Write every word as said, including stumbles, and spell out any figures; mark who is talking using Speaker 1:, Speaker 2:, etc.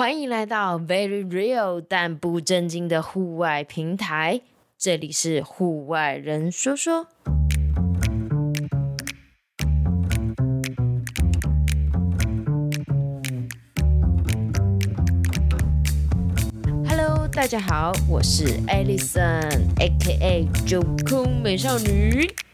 Speaker 1: 歡迎來到 Very Real 但不正經的戶外平台，這裡是戶外人說說。Hello， 大家好，我是 Alison，A K A 九空美少女。